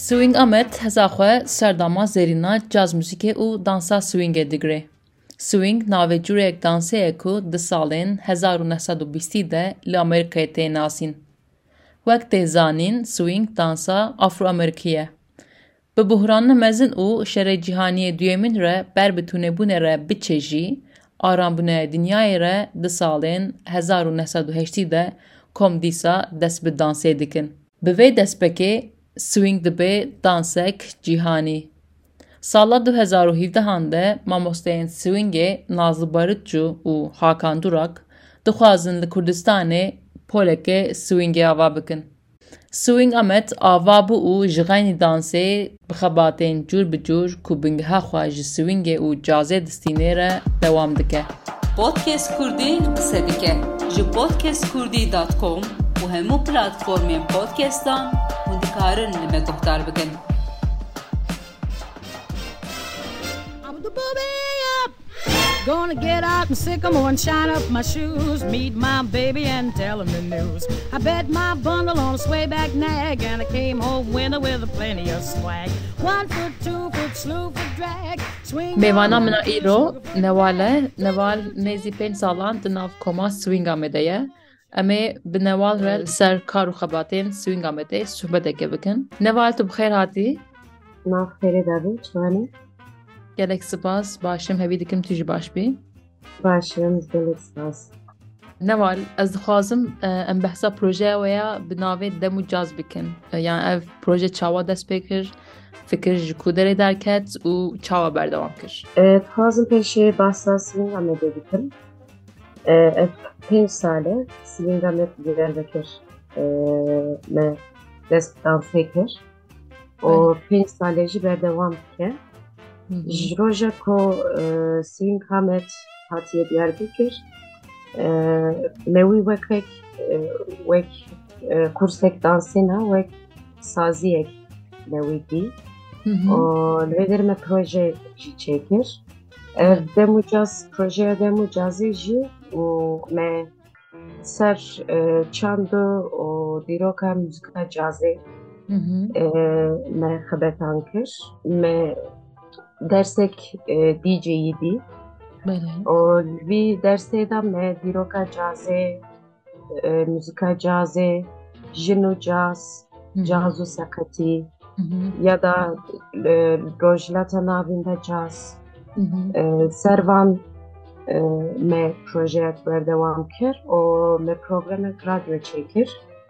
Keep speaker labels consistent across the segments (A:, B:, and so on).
A: Swing Ahmet heza xwe serdama zerîna caz musîkê û dansa swingê digire. Swing navê cureyek dansê ye ku di salên 1920 de li Amerîkayê tê nasîn. Wek tê zanîn, swing dansa Afro-Amerîkî ye. Bi buhranê mezin û şerê cîhaniyê duyemîn re ber bi tûnebûnê re biçêjî, arambûnê dinyayê re di salên 1980 de kom dîsa dest bi dansê dikin. Bi vê destpêkê swing dibe dansek cîhanî. Sala 2017 de mamosteyên swingê Nazlı Barutçu û Hakan Durak dixwazin li Kurdistanê polekê swingê ava bikin. Swing Ahmet ava bû û ji xenî dansê bi xebatên cûr bi cûr ku bingeha xwe ji swingê û cazê distînê re dewam dike.
B: Podcast Kurdî qise dike ji podcastkurdî.com û hemû platformên podcastan hûn dikarin li me guhdar bikin.
C: Gonna get out and sycamore and shine up my shoes, meet my baby and tell him the news. I bet my bundle on a swayback nag and I came home winter with a plenty of swag. 1 foot, 2 foot, slew for drag. Swing.
A: Mêvana min a îro Newal Newal nêzî 5 salan di nav koma Swing Ahmetê ye. Em ê bi Newal re li ser kar û xebatên Swing Ahmetê sohbeteke bikin. Newal tu bi xêr hatî?
D: Nav xêrê davê, çivanî?
A: Gelek spas, başım hevî dikim tu jî baş bî.
D: Başım gelek spas.
A: Newal, ez dixwazim em behsa projeya we ya bi navê Dem û Caz bikin. Yani ev proje çawa dest pê kir, fikir ji ku derê derket û çawa berdewam kir.
D: Dixwazim pêşê bahsa Swing Ahmetê bikim. Ev 5 sale Swing Ahmet gider vekir me dest dansê kir. O 5 sale jî berdewam dike. Ji roja ku Swing Ahmet hatiye Diyarbekir, me wî wek kursek dansê ne, wek saziyek me wî dî. Li vê derê me proje jî çêkir. Dem û Caz, projeya Dem û Cazê jî û me ser çando û dîroka muzika cazê me xebetan kir. Me dersek DJ'yi dî. O vî dersê de me dîroka cazê, muzika cazê, jin û caz, caz û seqetî ya da rojhilata navîn de caz. Servan me projeyek berdewam kir û me programek radyo çêkir.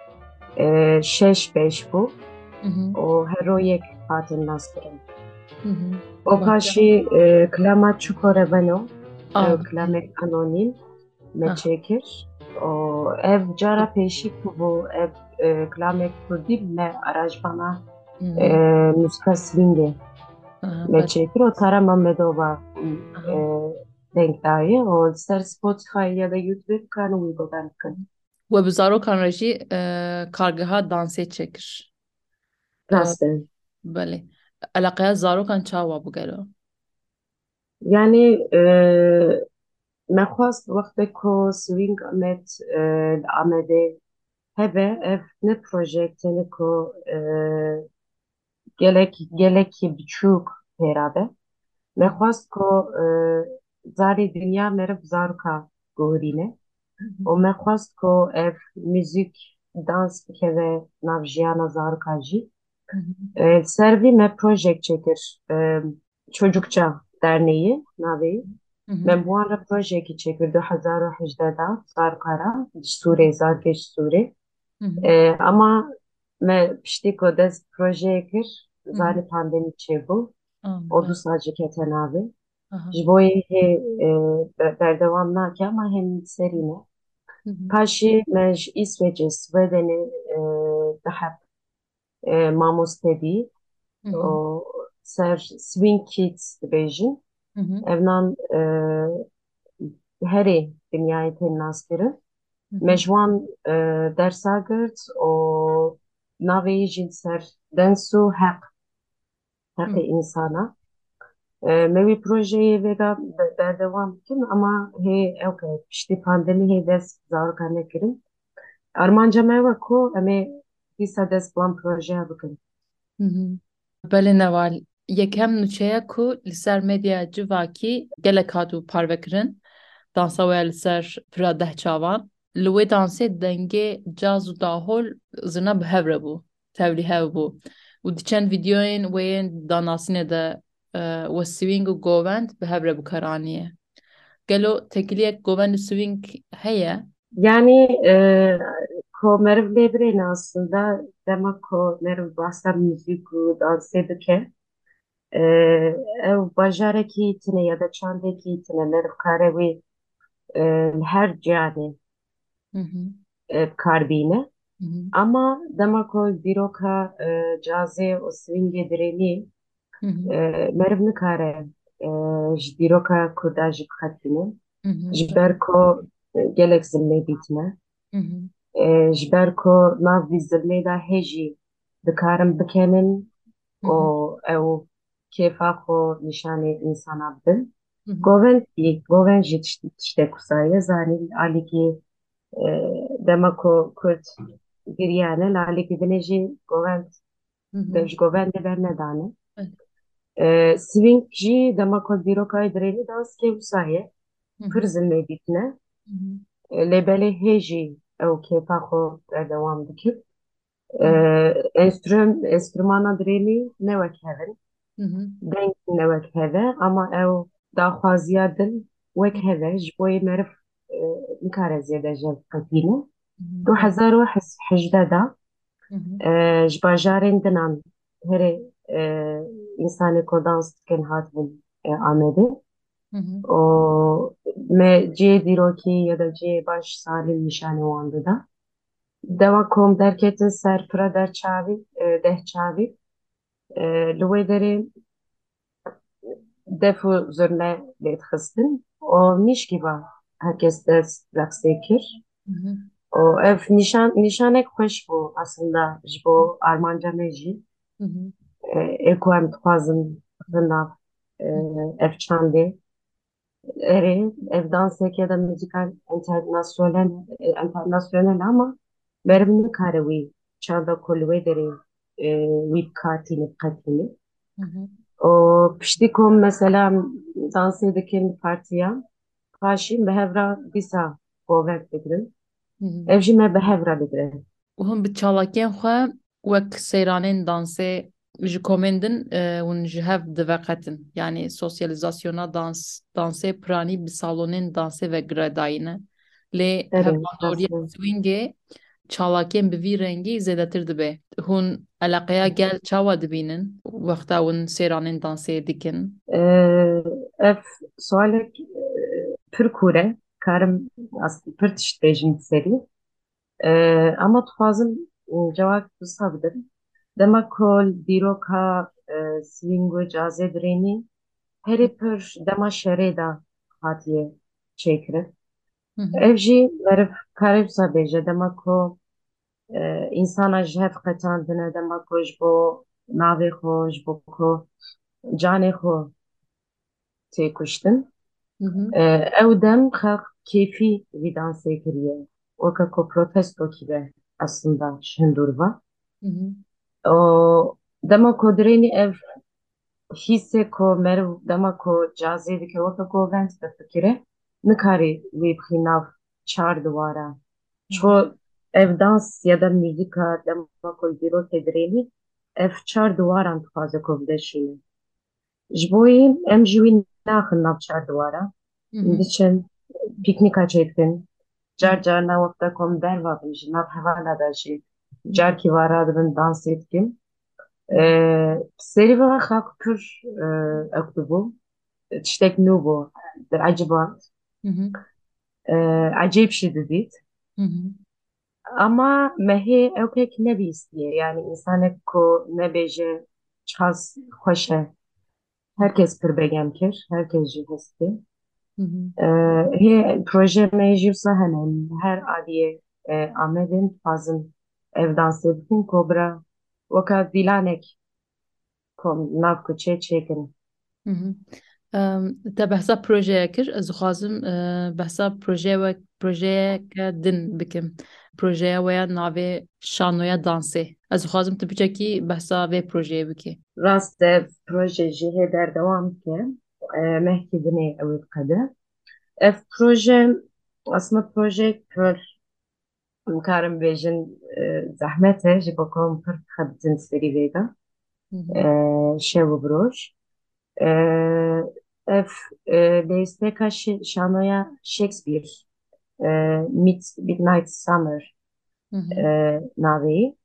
D: 6-5 bû û her royek hatin naskirin. O paşî klama Çukore Beno, klamek anonim me çêkir. Ev cara pêşî ku bû ev klamek Kurdî me arajbana muzika swingê me çêkir û tarama me dova denk daye û ser Spotify ya da YouTube kan wî godan bikin.
A: We bi zarokan re jî kargeha dansê çêkir.
D: Rast e.
A: Belê. Eleqeya zarokan çawa bû gelo?
D: Yani me xwast wextek ku Swing Ahmet li Amedê hebe ev ne projek tene ku gelekî biçûk pêra be. Me xwast ku zarê dinya meriv zaroka guherîne û me xwast ku ev müzik, dans bikeve nav jiyana zaroka jî. Ser vî me projek çêkir. Çocukça Derneği navê. Me bi wan re projekekî çêkir 2018 da zarokara ji Sûrê, zarokê ji Sûrê. Ama me piştî ku dest projeyê kir, zarê pandemî çêbû. O du sal jî kete navê. Ji bo yê hê berdewam nake ama hem serî ne. Paşê me ji İsveçê, Swêdenê diheb mamoste bî. Ser Swing Kids dibêjin. Evnan herê dinyayê tên naskirin. Me ji wan dersa girt û navê yê jî ser dens û heqê însana. Me wî projeyê vêga berdewam bikin ama hê ew piştî pandemî hê dest zaroka nekirin. Armanca me we ku em ê dîsa dest bi wan projeya bikin.
A: Belê neval yekem nûçeya ku li ser medya civakî gelek hatû parvekirin, dansa we li ser pira deh çavan. Li wê dansê dengê caz û dahol zirna bi hev re bû, tevlî hev bû. û di çend vîdeoyên wê yên danasînê de we swing û govend bi hev re bikaranîye. Gelo tekiliyek govend û swing heye?
D: Yani ko meriv lêbirên aslında dema ko meriv bahsa müzik û dansê dike. E, ew bajarekî tune ya da çandekî tune meriv kare wî her ciyanê
A: Hı hı,
D: kar bîne.
A: hı hı,
D: Ama dema ku dîroka cazê û swingê dirênî
A: hı hı,
D: meriv nikare ji dîroka ku da jî bixetîne
A: hı hı,
D: ji ber ku gelek zilmê dîtine
A: hı hı,
D: ji ber ku nav vî zilmê da hêjî dikarin bikenin
A: hı
D: û
A: hı,
D: ew kêfa xwe nîşanê însana bidin.
A: hı hı,
D: Govend jî tiştek wisa ye zanîn alîkî dema ku Kurd giriyane lalekî dinê jî govend
A: hı hı.
D: dev ji govendê bernedane.
A: Evet.
D: Swing jî dema ku dîrokayê dirênî danskê wisa ye
A: Hı
D: pir
A: hı,
D: zilmê dîtine.
A: hı hı,
D: Lê belê hê jî ew kêfa xwe berdewam dikir.
A: hı hı,
D: Enstrümana dirênî ne wek hevin,
A: hı hı,
D: deng ne wek heve ama ew daxwaziya dil wek heve ji bo yê meriv nikare zêde jev qetîne.
A: hı
D: 2018 da
A: hı,
D: ji bajarên dinan herê însanê ku dans dikin hatibûn Amedê
A: hı hı,
D: û me ciyê dîrokî ya da ciyê baş salî nîşanê wan dida. Dewa kom derketin ser pira derçavî dehçavî li wê derê def û zurne lê dixistin û nîşkîva herkes dest raqsê kir.
A: hı hı,
D: û ev nîşanek xweş bû aslında ji bo armanca me jî.
A: hı hı,
D: Eko em dixwazin rinav ev çandê erê ev dansek ya da müzikal internasyonel ama meriv nikare wî çanda ku li wê derê wî bikatîne biqetîne.
A: hı hı,
D: û piştî ku mesela dansê dikin partiya paşî bi hevra dîsa govek digirin
A: hı hı.
D: ev jî me bi hevra digire.
A: û hûn bi çalakiyên xwe wek seyranên dansê ji komên din hûn ji hev diveqetin. Yani sosyalizasyona dansê piranî bi salonên dansê ve giredayîne. Lê
D: Erê
A: hevandoriya
D: rastî.
A: swingê çalakiyên bi vî rengî zêdetir dibe. Hûn eleqeya gel çawa dibînin wexta hûn seyranên dansê dikin.
D: Ev sualek pir kûr e karim pir tişt bêjim serî. Ama dixwazim cewak wisa bidim. Dema ku dîroka swing û cazê dirênî herî pir dema şerê da hatiye çêkirin.
A: Hı hı,
D: Ev jî meriv kare wisa bêje dema ku însana ji hev qetandine dema ku ji bo navê xwe ji bo ku canê xwe tê kuştin.
A: hı hı,
D: Ew dem xelq kêfî vî dansê kiriye. Weka ku protestokî be aslında ji hindûrva.
A: hı hı,
D: O dema ku dirênî ev hîsê ku meriv dema ku cazê dike weka ku vend bifikire nikarî wî bixî nav çar diwara.
A: hı
D: Ço
A: hı,
D: ev dans ya da müzika dema ku dîrokê dirênî ev çar diwaran dixwaze ku bideşîne. Ji bo yê em jî wî naxin nav çar diwara.
A: hı hı,
D: Diçin pîknîka çê dikin.
A: hı hı,
D: Car carna wexta kom derva bin ji nav hevala da jî carkî wa radibin dansê dikin. Serî vê xelq pir ew dibû. Tiştek nû bû. Eciband.
A: hı hı,
D: Ecêb jî didît.
A: hı hı.
D: Ama mehê ew pek nebîstiye. Yani însanek ku nebêje ças xweş e. Herkes pir begem kir. Herkes jî hestê.
A: Hı hı.
D: Hê proje me jî wisa hene. Her aliyê Amedên dixwazin ev dansê bikin ku bira weka dîlanek kom nav kuçê çêkin.
A: Hı hı. Te behsa projeye kir. Ez dixwazim behsa projeyeke din bikim. Projeya we ya navê Şanoya Dansê. از خوازم تو بچکی بحثا و پروژه بکی.
D: راست پروژه جهه در دوام که مهکدنی اوید قده. اف پروژه اصلا پروژه کر مکارم بیجن زحمته جبا کم پر خبزن سری ویگا شو بروش. اف لیستکا شانویا شکسپیر Midnight Summer ناوی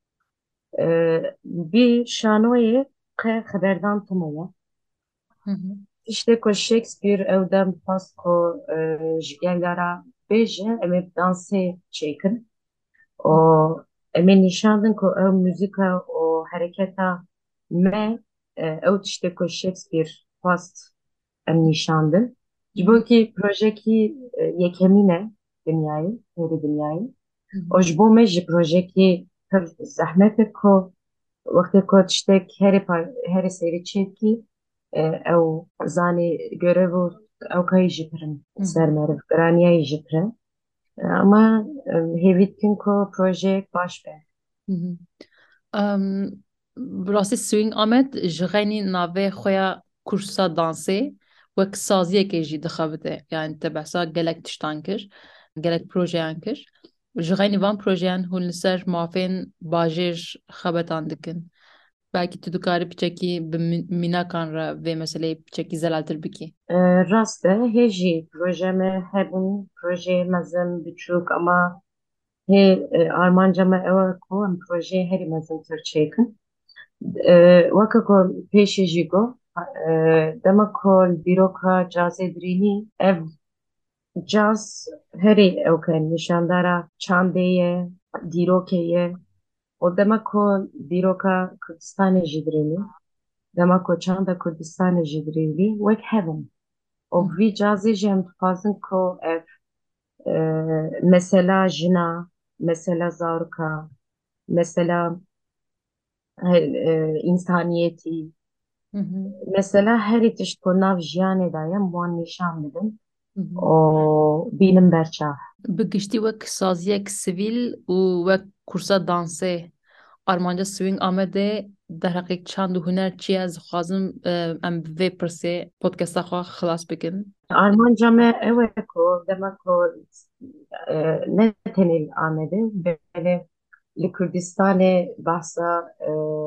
D: bir şanoyê qe xeberdan tımaya. İşte ko Shakespeare evden pas ko ji gelara bêje em ê dansê çêkin. O em ê nîşandin ku ew müzika û hereketa me ew tiştê ku Shakespeare past em nîşandin. Ji bo kî projekî yekemîn e dinyayê, herî dinyayê. O ji bo me ji projekî pir zehmet e ku وقتی که تشتک هر سری چکی او زانی görev او کای جپرن سر مرف گرانیای جپرن ama hevitkin ko proje baş be.
A: راستی سوینگ آمد جغینی ناوه خویا کورسا دانسی وک سازیه که جی دخوابده یعنی تبعسا گلک تشتان کر گلک پروژه ان کر جغینی وان پروژه ان هون لسر مافین باجر خبتان دکن belki tu dikarî piçekî bi mînakan re vê meseleyê piçekî zelaltir bikî.
D: Rast e hêjî projeme hebûn projeyê mezin biçûk ama hê armanca me ew e ku em projeyê herî mezintir çêkin. Weke ku pêşî jî got dema ku li dîroka cazê dirînî ev caz herî ew ke nîşandara çandê ye, dîrokê ye. O demek ku dîroka Kurdistanê jî dirênî, demek ku çanda Kurdistanê jî dirêvî wek hebin. O vî cazê jî em dixwazin ku ev mesela jina, mesela zaroka, mesela insaniyetî, mesela herî tişt ku nav jiyanê da ye wan nîşan bidin û bînin berçav.
A: Bi giştî wek saziyek sivîl û wek kursa dansê armanca swing Amedê derheqek çand û huner çi ye dixwazim em bi vê pirsê podcasta xwe xilas bikin.
D: Armanca me ew e ku demek ku ne tenê li Amedê belê li Kurdistanê behsa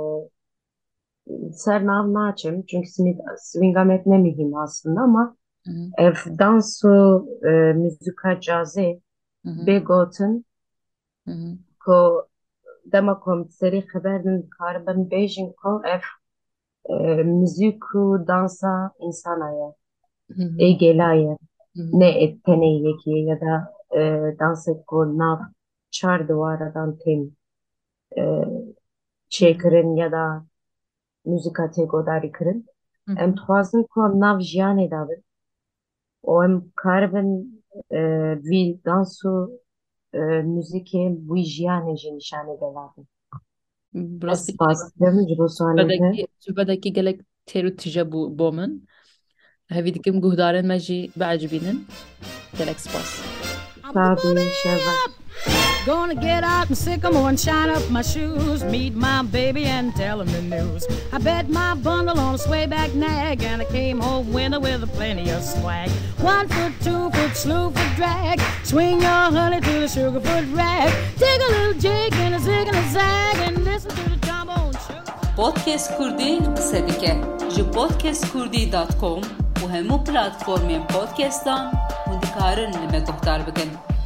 D: ser nav naçim çünkü swing Amed ne mühim aslında ama ev dans û müzika cazê bê gotin ku dema ku em serî xeber din dikaribin bêjin ku ev müzik û dansa insana ye ê gêla ye ne tenê yekî ye ya da dansek ku nav çar diwaradan tên çêkirin ya da müzika tê godarî kirin em dixwazin ku em nav jiyanê da bin û em karibin vî dans û müzikê wî jiyanê jî nîşanê geladin. Ez spas dikim ji bo sualê te.
A: Sohbeteke gelek têr û tije bû bo min. Hevî dikim guhdarên me jî biecibînin. Gelek spas.
D: Tabii şeva.
C: Gonna get out and sycamore and shine up my shoes, meet my baby and tell him the news. I bet my bundle on a swayback nag, and I came home winter with plenty of swag. 1 foot, 2 foot, slew foot drag, swing your honey to the sugar foot rag, take a little jig and a zig and a zag, and listen to the trombone sugar.
B: Podcast Kurdi qise dike ji podcastkurdi.com û hemû platformên podcastan hûn dikarin li me guhdar bikin.